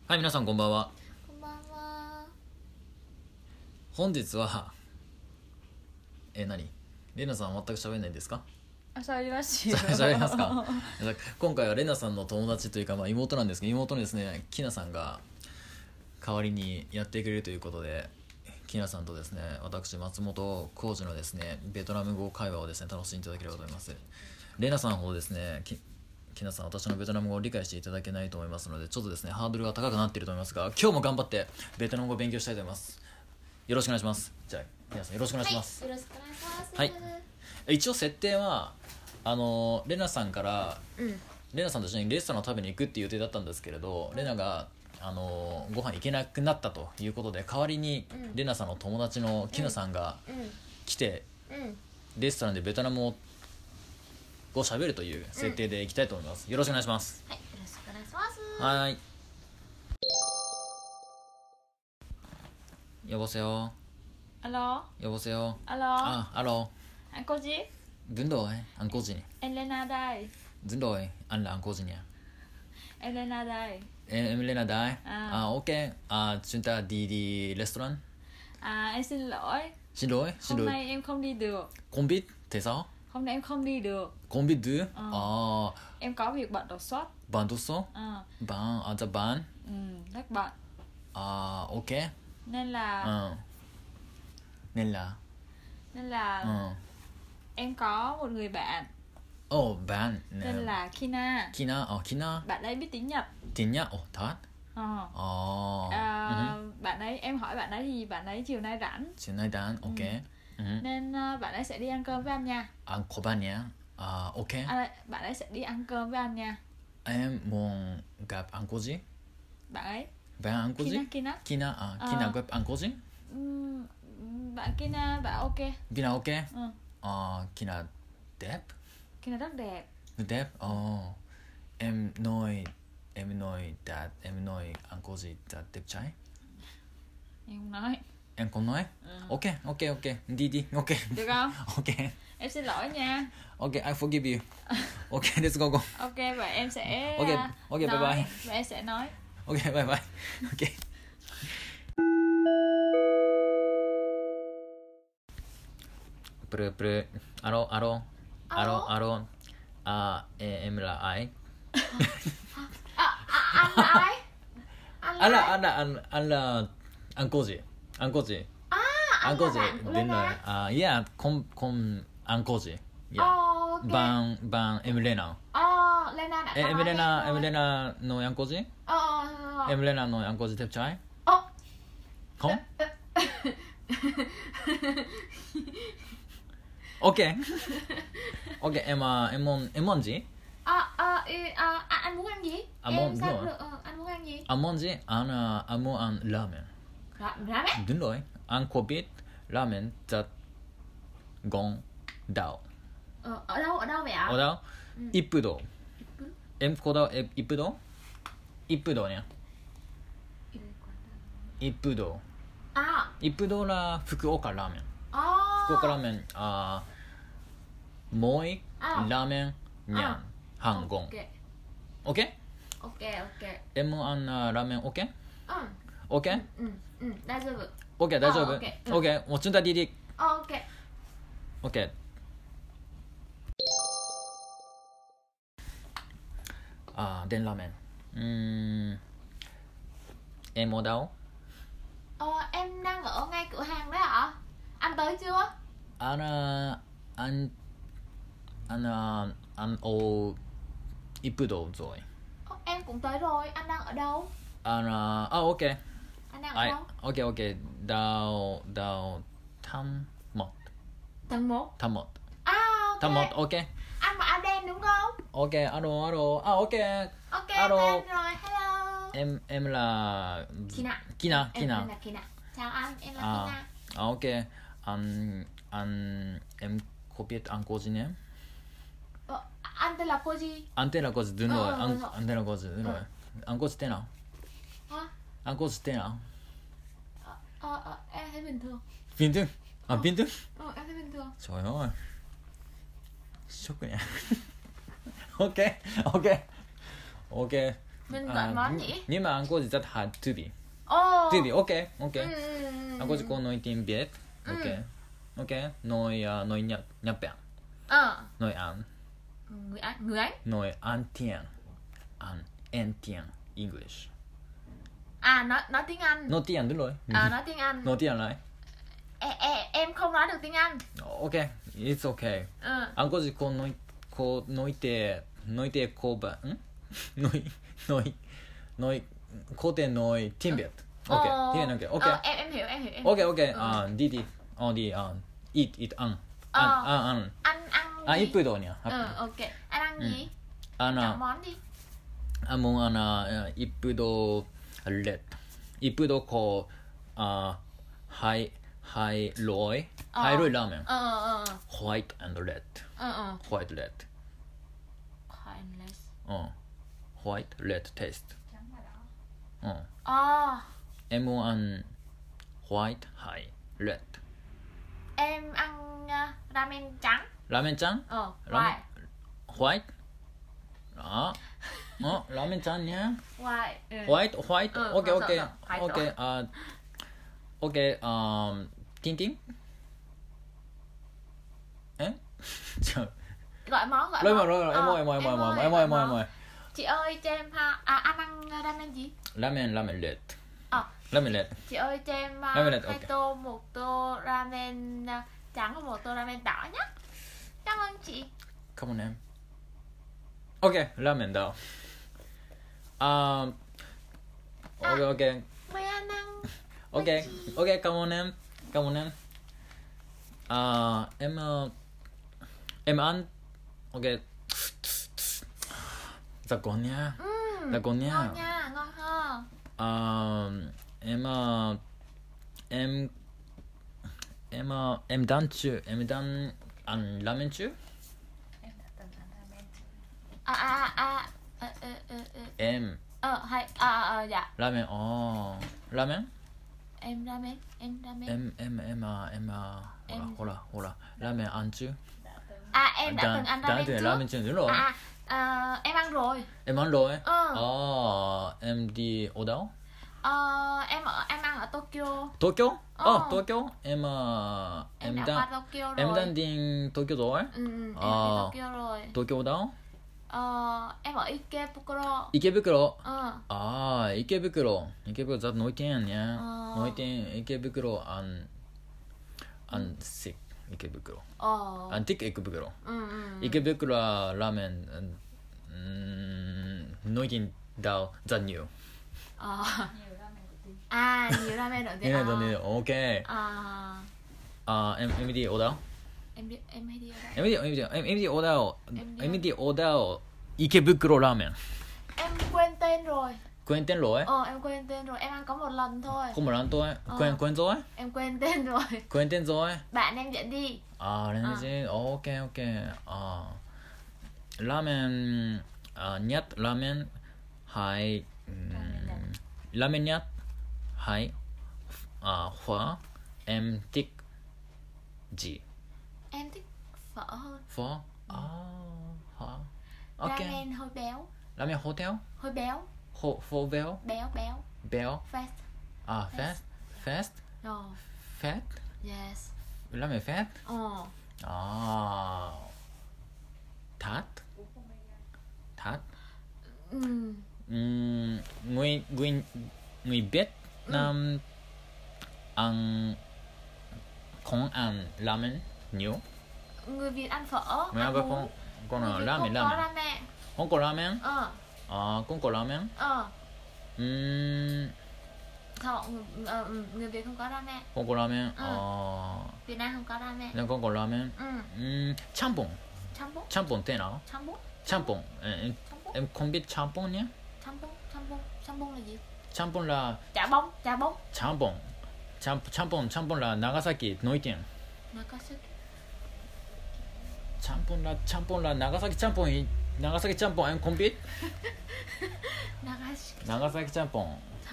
はい、皆さんこんばんは。 こんばんは。 本日は何レナさん全く喋んないんですか？ 喋りますよ。 喋りますか？今回はレナさんの友達というか、妹なんですけど、妹のですねきなさんが代わりにやってくれるということで、きなさんとですね私松本浩二のですねベトナム語会話をですね楽しんでいただければと思います。レナさんほどですねきなさん私のベトナム語を理解していただけないと思いますので、ちょっとですねハードルが高くなっていると思いますが、今日も頑張ってベトナム語を勉強したいと思います。よろしくお願いします。じゃあ皆さんよろしくお願いします。 はい、よろしくお願いします。 はい、一応設定はレナさんから、レナさんと一緒にレストランを食べに行くっていう予定だったんですけれど、レナがご飯行けなくなったということで、代わりにレナさんの友達のキナさんが来て、レストランでベトナムを喋るという設定でいきたいと思います。よろしくお願いします。 はい、よろしくお願いします。 はい。여보세요. Alo. 여보세요. Alo. Alo. Anh cô gì? Đúng rồi, anh cô gì nhỉ? Em Lena đây. Đúng rồi, anh là anh cô gì nhỉ? Em Lena đây. Em Lena đây. Ok. Chúng ta đi restaurant. Em xin lỗi. Xin lỗi. Hôm nay em không đi được. Không biết tại sao? Hôm nay em không đi được. Không biết được. Em có việc bận đột xuất. Bạn đột xuất? Bạn à, bạn. Rất bận. Ok. Nên là em có một người bạn bạn. tên là Kina. Kina. Bạn ấy biết tiếng Nhật. Tiếng Nhật? Thật? Bạn ấy, em hỏi bạn ấy thì bạn ấy chiều nay rảnh. Chiều nay rảnh, ok. Nên bạn ấy sẽ đi ăn cơm với anh nha. Ăn cơm với anh nha. Ok. Bạn ấy sẽ đi ăn cơm với anh nha. Em muốn gặp anh cô gì? Bạn ấy. Bạn anh cô gì? Kina. Kina gặp anh cô gì? Bạn Kina bảo ok. Kina ok? Kina đẹp? Kina rất đẹp. Đẹp? Em nói anh cô gì đẹp trai? Em không nói. Em không nói? Ok. Đi, ok. Được không? Ok. Em xin lỗi nha. Ok, I forgive you. Ok, let's go. Ok, và em sẽ Ok, bye bye. Và em sẽ nói. Ok, bye bye. Ok. Alo. Em là ai? Anh là ai? Anh là anh cô gì? Anh cô gì? Anh cô là gì? bạn của Đúng rồi. Lena. Yeah, không anh cô gì? Yeah. Ok. Bạn em Lena. Lena đã Em Lena nói anh cô gì? Em Lena nói anh cô gì đẹp trai? Không? Ok. Ok, em muốn gì? Anh muốn ăn gì? Anh muốn ăn gì? Anh muốn gì? Anh muốn ăn ramen. Ramen? Đúng rồi. Anh có biết ramen rất ngon đâu. Ở đâu vậy ạ? Ở đâu? Ippudo. Em có đâu Ippudo? Ippudo nhé. Ippudo. Ippudo là Fukuoka ramen. Fukuoka ramen mỗi ramen nhàn Hàn Quốc. Ok? Ok. Em muốn ăn ramen ok? Ok? 大丈夫。 Ok, 大丈夫? Ok, もうchúng ta đi. Ok. Ok. Đến ramen. Em ở đâu? Em đang ở ngay cửa hàng đấy ạ. Anh tới chưa? Anh ở Ippudo rồi. Em cũng tới rồi. Anh đang ở đâu? Ok. Anh đang ở đâu? Ok. Đào Thăm Một. Tầng 1. Thăm Một. Ok. Thăm Một, ok. Anh mặc áo đen đúng không? Ok, alo. Ok. Ok, Alo. em rồi. Hello. Em là Kina. Kina. Em là Kina. Chào anh, em là Kina. Ok. Em có biết anh cô gì nhé? Anh tên là cô gì? Anh tên là cô gì? Đúng rồi. Anh tên là cô gì? Đúng rồi. Anh cô gì tên nào? Hả? Anh cô gì tên nào? Em thấy bình thường. Bình thường? Bình thường? Em thấy bình thường. Trời ơi. Sốc nhỉ. Ok. Mình gọi món gì? Nhưng mà anh có gì rất hard to be. Ồ. To be, ok, ok. Ừ. Anh có gì có nói tiếng Việt, ok. Ok, nói Nhật Bản, nói Anh, Người Anh. nói Anh tiếng English. À, nói tiếng Anh. Nói tiếng đúng rồi. Nói tiếng Anh. Nói tiếng lại. Em không nói được tiếng Anh. Ok, it's okay. Anh có gì có nói tiếng cô bạn, nói có thể nói tiếng Việt. Ok, tiếng Việt, ok. Em hiểu. Ok. Đi. Eat ăn. Ăn. Ăn gì? 이쁘더냐. Ok. Anh ăn gì? Ana. Chọn món đi. 뭐 하나 이쁘도 렛. 이쁘도 코 하이로이 라면. White and red. White red. White red taste. Em muốn ăn white high red. Em ăn ramen trắng. 라멘 짱? White. White? 라멘 짱이야? White. White? 오케이. White. 오케이. 띵띵? 에? Gọi món. em ơi. Chị ơi cho em anh ăn ramen gì? 라멘 렛. 라멘 렛. Chị ơi cho em Ramen red, 2 ok. tô, 1 tô ramen trắng và 1 tô ramen đỏ nhé. Cảm ơn chị. Come on em. 오케이. 라멘 더. 오케이. Mời anh ăn. 오케이. Come on em. Em ăn. 오케이. Ngon nha. Ngon nha, ngon ha. Em đang ăn ramen chưa? Em Dạ. 라멘 라멘? Em ramen. em 호라 라멘 ăn chưa? Em đã từng ăn ramen trước. 라멘 chưa? Đúng rồi. Em ăn rồi. Em ăn rồi. Em đi ở đâu? Em ăn ở Tokyo. Tokyo? Tokyo? Em đã qua Tokyo rồi. em đang đi Tokyo rồi? Em đi Tokyo rồi. Tokyo ở đâu? Em ở Ikebukuro. 이케부쿠로. 이케부쿠로 rất nổi tiếng nha. Nổi tiếng 이케부쿠로 안 thích 이케부쿠로. 안 thích 이케부쿠로. 이케부쿠로 라멘 nổi tiếng đâu rất nhiều. Nhiều ramen nổi tiếng. nhiều. Ok. Em đi ở đâu? Em hay đi ở đâu? em đi ở đâu? 이케부쿠로 라멘. Em quên tên rồi. Quên tên rồi? Em quên tên rồi. Em ăn có một lần thôi. Không một lần thôi. Quên rồi? Em quên tên rồi. Quên tên rồi? Bạn em dẫn đi. 레네지. 오케이. 라멘 ཉát 라멘 하이 라멘 ཉát 하이 phở em thích gì? Em thích phở hơn. Phở? Phở. Ok. Ramen hơi béo. 라멘 호텔? Hơi béo. Phở béo? Béo. Fast. Fast? Fat? Yes. 라멘 fat? Thát? Người Việt Nam ăn không ăn ramen nhiều. Người Việt ăn phở. Người Việt không có ramen. Không có ramen. Không có ramen. Người Việt không có ramen. không có ramen. Việt Nam không có ramen. không có ramen. 짬뽕. 짬뽕 thế nào? 짬뽕. Em không biết 짬뽕 nhé. 짬뽕 là gì? 짬뽕 là chả bông. 짬뽕 là Nagasaki nổi tiếng. 짬뽕 là Nagasaki 짬뽕 em không biết. Nagasaki 짬뽕.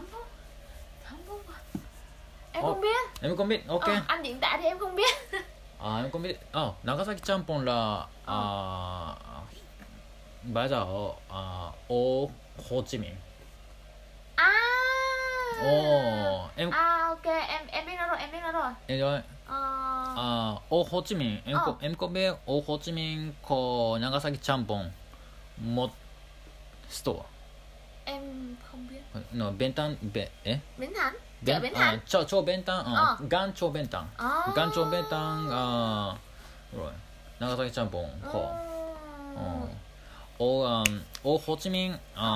Em không biết. Em không biết. Ok. Anh diễn tả thì em không biết. em không biết. Nagasaki 짬뽕 là 맞아. Hồ Chí Minh. À. Ồ, em À ok, em biết nó rồi, em biết nó rồi. em nói Ờ. Ô Hồ Chí Minh, em có biết Ô Hồ Chí Minh có Nagasaki Champon một store. Em không biết. No, Bentan Bến Thành. Chợ Bến Thành. Cho Bentan, Gan cho Bentan. À. Gan cho Bentan rồi. Nagasaki Champon có. Ô Hồ Chí Minh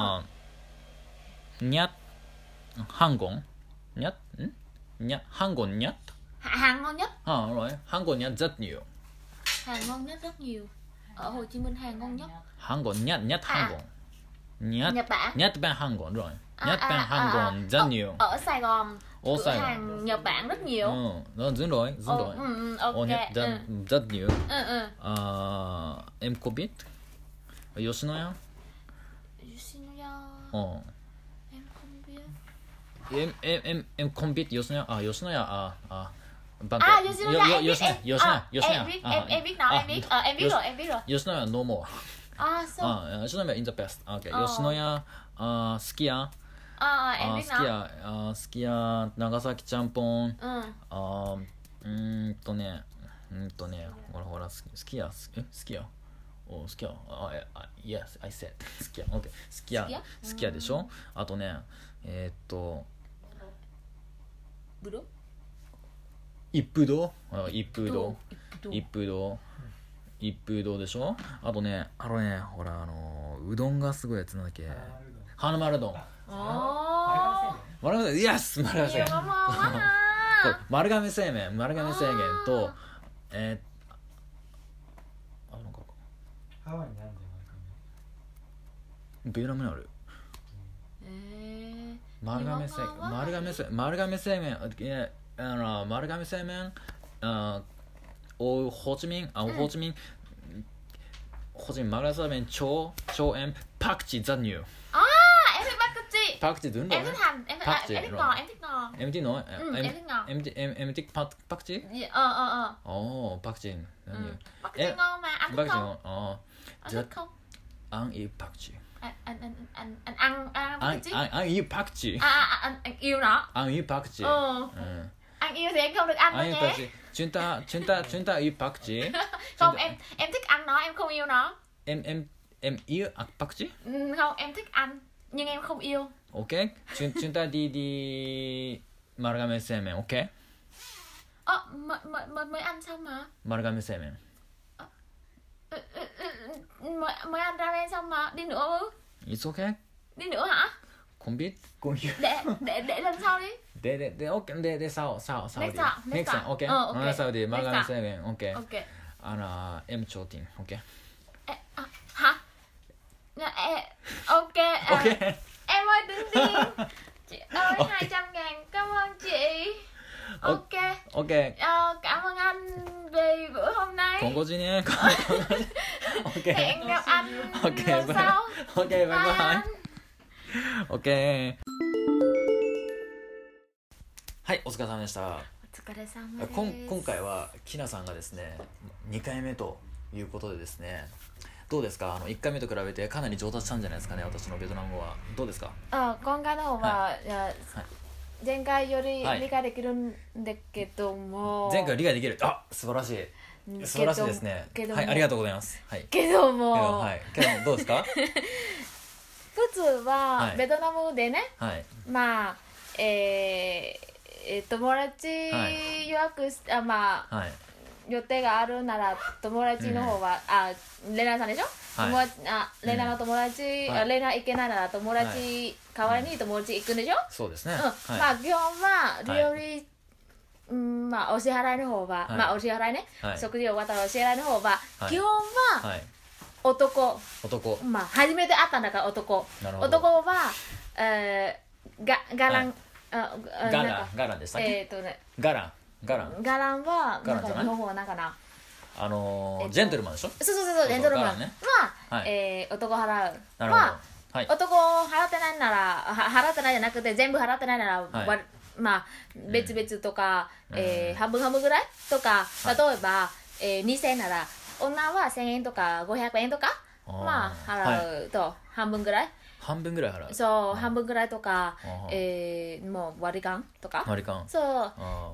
nhát 한국 nhát nhát 한국 nhát Hàng ngon nhất. rồi 한국 nhát rất nhiều. Hàng ngon nhất rất nhiều. Ở Hồ Chí Minh hàng ngon nhất. 한국 nhát 한국 nhát Nhật Bản. nhát bên 한국 rồi. Nhát bên 한국 rất nhiều. Ở Sài Gòn. Ở Cửa Sài Gòn. hàng Nhật Bản rất nhiều. Nó dính rồi. Ok. nhát rất nhiều. Ừ. Em có biết Yoshinoya? Yoshinoya. Em không biết. Em không biết Yoshinoya. Yoshinoya À Yoshinoya em biết. Yoshinoya. Em biết nó, em biết rồi, em biết rồi. Yoshinoya no more. À sao? Yoshinoya in the best. Okay. Yoshinoya Sukiya. Em biết nó. Sukiya Nagasaki Champon. ほら好きや好きやyes I said 好きや OK 好きやでしょ。あとねぶどう？ 一風堂でしょ。あとねほらうどんがすごいやつなんだっけ、花丸うどん。丸亀製麺、イエス丸亀製麺。これ丸亀製麺となんかハワイにあるんじゃないかな。ベトナムにある。丸亀製麺丸亀製麺ホーチミン丸亀製麺超emパクチーrất nhiều. Em thích bác cà đúng rồi. Em thích hành, em thích ngọt. Em thích ngọt. Em thích ngọt. Em thích bác chí. Bác chí rất nhiều. Bác chí ngon mà, anh thích không? Anh thích không? Anh yêu bác chí. Anh ăn bác chí. Anh yêu bác chí. Anh yêu nó. Anh yêu bác chí. Anh yêu thì anh không được ăn đâu nhé. Chúng ta yêu bác chí. Không, em thích ăn nó, em không yêu nó. Em yêu bác chí? Không, em thích ăn nhưng em không yêu. Ok, chúng ta đi Marugame製麺, ok? Mới ăn xong mà. Marugame製麺. Mới ăn ramen xong mà, đi nữa ư? It's okay. Đi nữa hả? Không biết. Để lần sau đi. để sau đi. Next time, ok. Sau đi Marugame製麺, ok. Em cho tiền, ok. Hả? Ok. Em ơi tính tiền. Chị ơi 200.000, cảm ơn chị. Ok. Cảm ơn anh vì bữa hôm nay. Không có gì nhé. Hẹn gặp anh lần bye. sau. Ok, bye bye. Ok. はい、お疲れ様でした。 お疲れ様です。 今回はきなさんがですね2回目ということでですね、どうですか1回目と比べてかなり上達したんじゃないですかね、私のベトナム語は。どうですか？ 今回の方は、前回より理解できるんだけども、 前回理解できる。素晴らしいですね。はい、ありがとうございます。 けどもどうですか？ 普通はベトナムでね、まあ友達予約し予定があるなら友達の方はレナさんでしょ、レナの友達、レナ行けないなら友達代わりに友達行くんでしょ。 そうですね。 まあ基本は料理まあお支払いの方はまあお支払いね、食事終わったらお支払いの方は基本は男、まあ初めて会ったんだから男はガランガランでしたっけ？ガランはなんか日本語はなんかなジェントルマンでしょ。 そうジェントルマンは男払う。まあ男払ってないなら払ってないじゃなくて全部払ってないならまあ別々とか半分ぐらいとか、例えば2000円なら女は1000円とか500円とかまあ払うと半分ぐらい、 半分ぐらい払う。 そう半分ぐらいとか、もう割り勘とか、そう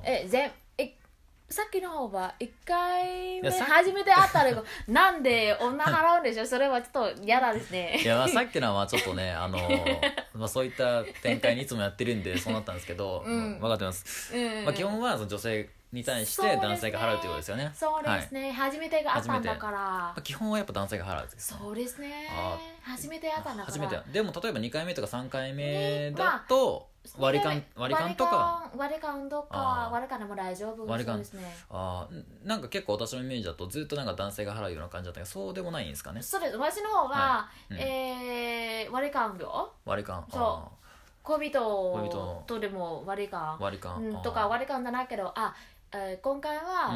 さっきの方は1回目初めて会ったらなんで女払うんでしょ、それはちょっと嫌だですね。 いやさっきのはちょっとねそういった展開にいつもやってるんでそうなったんですけど、分かってます、基本はその女性に対して男性が払うということですよね。 そうですね、初めてがあったんだから基本はやっぱ男性が払うんです。 そうですね、初めて会ったんだから。初めてでも例えば2回目とか3回目だと割り勘とか割り勘でも大丈夫。 割り勘ですね。 なんか結構私のイメージだとずっとなんか男性が払うような感じだったけど、そうでもないんですかね。 そうです。私の方は、割り勘料、 割り勘、 そう恋人とでも割り勘とか割り勘じゃないけど、今回は、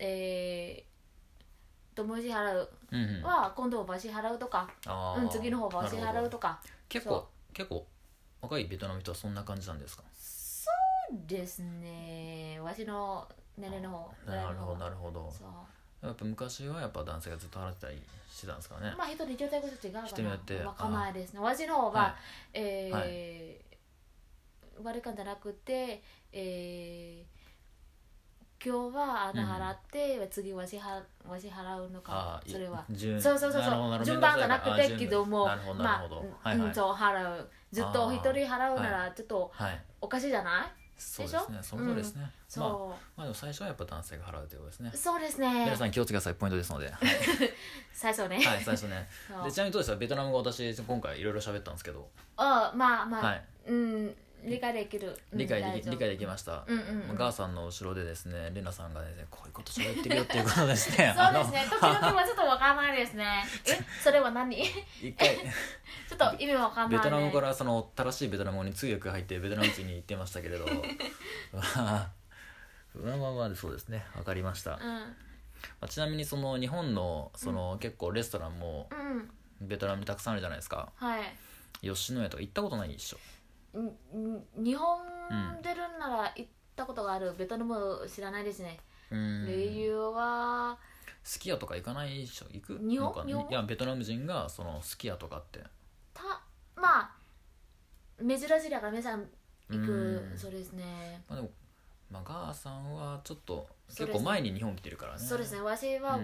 友達払うは今度は私払うとか、次の方は私払うとか。 結構若いベトナム人はそんな感じなんですか？ そうですね、私の年齢の方。 なるほど。やっぱ昔はやっぱ男性がずっと払ってたりしてたんですかね。 まあ人で状態が違うかな。 人によってわかんないですね。私の方は、割り勘じゃなくて、今日はあなた払って、次わし払うのか、それはそう順番じゃなくてけども、そう払う、ずっと一人払うならちょっとおかしいじゃない？ そうですね、その通りですね。まあでも最初はやっぱ男性が払うということですね。 そうですね、 皆さん気をつけてください、ポイントですので。 最初ね、 最初ね。でちなみにどうですか、ベトナム語私今回いろいろ喋ったんですけど、 まあ理解できる、 理解できました。ガーさんの後ろでですね、レナさんがですね、こういうこと喋ってるよっていうことですね。 そうですね、時々はちょっとわからないですね。それは何？ 一回ちょっと意味わかんないね。 ベトナムからその正しいベトナム語に通訳が入ってベトナム人に言ってましたけれど、まあそうですね、わかりました。ちなみにその日本のその結構レストランもベトナムにたくさんあるじゃないですか。吉野家とか行ったことないでしょ？ 日本出るなら行ったことがある。ベトナム知らないですね。理由はすき家とか行かないでしょ？行く日本いやベトナム人がそのすき家とかってまあ珍しいだから皆さん行く。そうですね。 でもガーさんはちょっと結構前に日本来てるからね。 そうですね、私は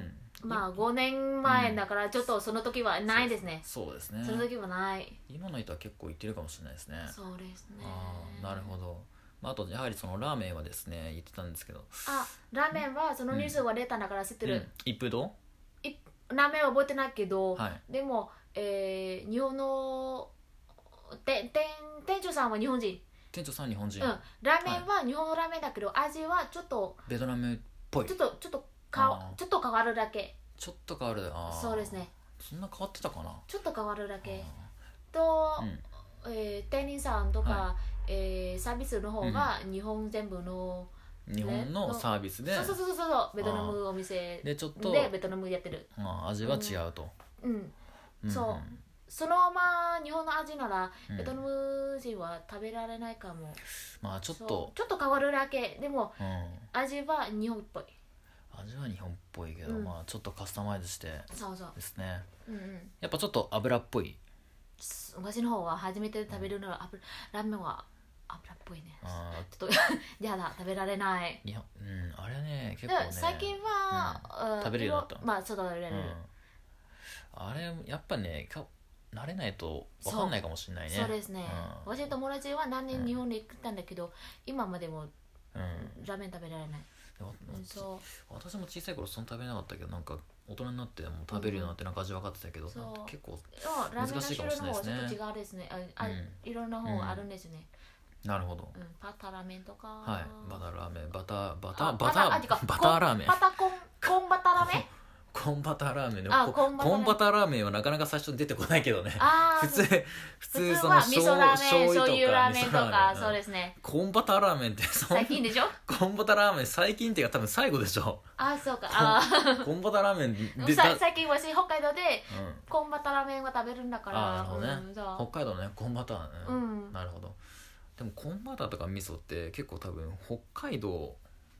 5年前だからちょっとその時はないですね。 そうですね、 その時はない。 今の人は結構行ってるかもしれないですね。 そうですね。 なるほど。あとやはりそのラーメンはですね言ってたんですけど、 ラーメンはそのニュースが出たんだから知ってる。 一風堂ラーメンは覚えてないけど、でも日本の店長さんは日本人。 店長さん日本人。 ラーメンは日本のラーメンだけど味はちょっとベトナムっぽい。ちょっと変わるだけ。 ちょっと変わる。 そうですね。 そんな変わってたかな。 ちょっと変わるだけと、店員さんとか、サービスの方が日本全部の日本のサービスで、 そうベトナムお店でちょっとでベトナムやってる。 味は違うと。 そうそのまま日本の味ならベトナム人は食べられないかも。 ちょっと変わるだけでも、味は日本っぽい。 味は日本っぽいけど、ちょっとカスタマイズしてですね。 うんうん、 やっぱちょっと油っぽい。 私の方は初めて食べるのは、ラーメンは油っぽいね。ちょっとやだ、食べられない。 あれね結構ね最近は、 食べるようになった。 まあそう食べれる、 あれやっぱね慣れないと分かんないかもしれないね。 そうですね、私の友達は何年日本に行ったんだけど、今までも、ラーメン食べられない。 私も小さい頃そんな食べなかったけど、なんか大人になっても食べるようになってなんか味分かってたけど、結構難しいかもしれないですね。 ラーメンの種類の方はちょっと違うですね。いろんな方があるんですね。 なるほど。 パタラーメンとか、 バターラーメン、バターラーメン、 コンバタラーメンコンバターラーメン。コンバターラーメンはなかなか最初に出てこないけどね。普通その味噌ラーメン、醤油ラーメンとか、そうですね。 コンバターラーメンって最近でしょ？ コンバターラーメン最近っていうか多分最後でしょ。 そうか。 コンバターラーメンで最近私北海道でコンバターラーメンは食べるんだから。 なるほどね。北海道ね、コンバターね。なるほど。でもコンバターとか味噌って結構多分北海道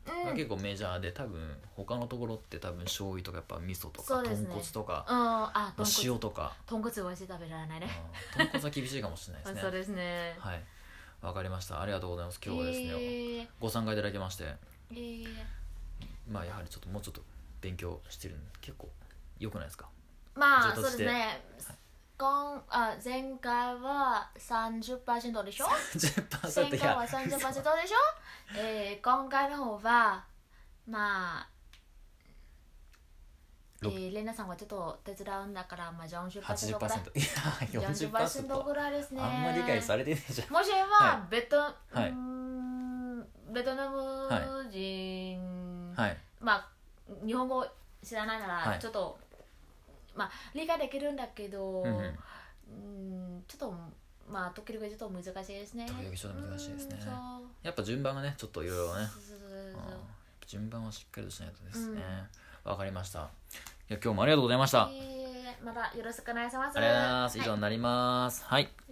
が結構メジャーで、多分他のところって多分醤油とかやっぱ味噌とか、 そうですね、 豚骨とか、塩とか。 豚骨は食べられないね。 豚骨は厳しいかもしれないですね。 そうですね。 はい、わかりました。ありがとうございます。今日はですね、ご参加いただきまして、まあやはりちょっともうちょっと勉強してるんで結構良くないですか。 まあそうですね。前回は 30% でしょ。前回は 30% でしょ。今回の方はまあレナさんはちょっと手伝うんだから、まあ 40% ぐらい。 いや 40% ぐらいですね。 あんまり理解されてないじゃん。 もしはベトナム人、まあ日本語知らないならちょっと、まあ理解できるんだけど、ちょっとまあ時々ちょっと難しいですね。 時々ちょっと難しいですね。やっぱ順番がねちょっといろいろね、順番はしっかりとしないとですね。わかりました。いや今日もありがとうございました。 またよろしくお願いします。 ありがとうございます。以上になります。はい。